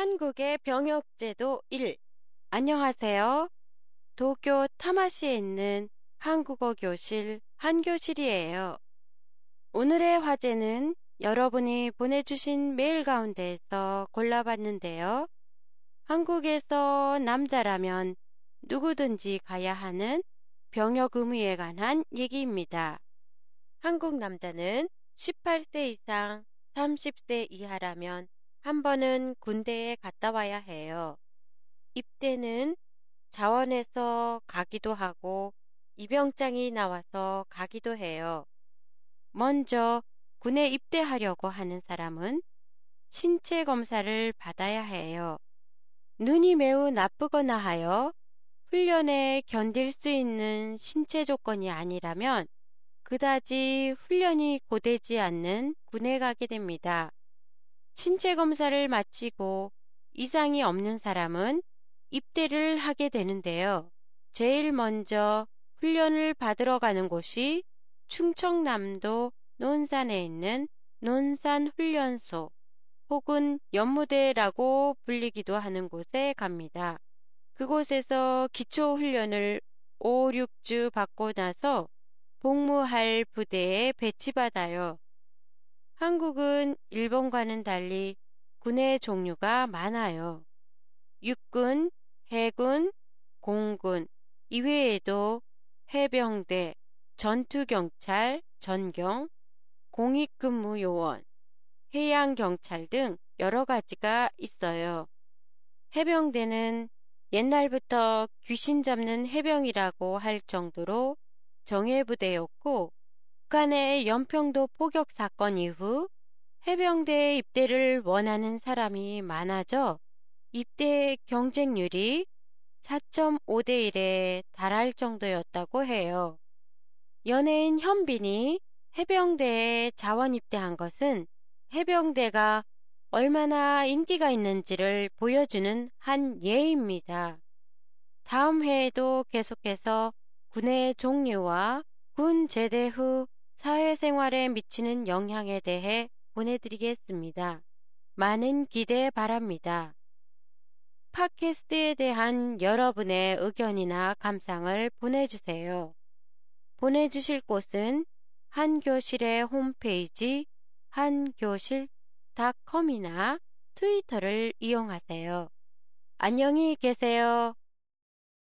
한국의 병역제도 1. 안녕하세요. 도쿄 타마시에 있는 한국어 교실 한교실이에요. 오늘의 화제는 여러분이 보내주신 메일 가운데에서 골라봤는데요. 한국에서 남자라면 누구든지 가야 하는 병역 의무에 관한 얘기입니다. 한국 남자는 18세 이상 30세 이하라면 한 번은 군대에 갔다 와야 해요. 입대는 자원에서 가기도 하고 입영장이 나와서 가기도 해요. 먼저 군에 입대하려고 하는 사람은 신체 검사를 받아야 해요. 눈이 매우 나쁘거나 하여 훈련에 견딜 수 있는 신체 조건이 아니라면 그다지 훈련이 고되지 않는 군에 가게 됩니다. 신체 검사를 마치고 이상이 없는 사람은 입대를 하게 되는데요. 제일 먼저 훈련을 받으러 가는 곳이 충청남도 논산에 있는 논산훈련소 혹은 연무대라고 불리기도 하는 곳에 갑니다. 그곳에서 기초훈련을 5, 6주 받고 나서 복무할 부대에 배치받아요. 한국은 일본과는 달리 군의 종류가 많아요. 육군, 해군, 공군, 이외에도 해병대, 전투경찰, 전경, 공익근무요원, 해양경찰 등 여러 가지가 있어요. 해병대는 옛날부터 귀신 잡는 해병이라고 할 정도로 정예부대였고 북한의 연평도 포격 사건 이후 해병대에 입대를 원하는 사람이 많아져 입대 경쟁률이 4.5대 1에 달할 정도였다고 해요. 연예인 현빈이 해병대에 자원 입대한 것은 해병대가 얼마나 인기가 있는지를 보여주는 한 예입니다. 다음 회에도 계속해서 군의 종류와 군 제대 후 사회생활에 미치는 영향에 대해 보내드리겠습니다. 많은 기대 바랍니다. 팟캐스트에 대한 여러분의 의견이나 감상을 보내주세요. 보내주실 곳은 한교실의 홈페이지 한교실.com이나 트위터를 이용하세요. 안녕히 계세요.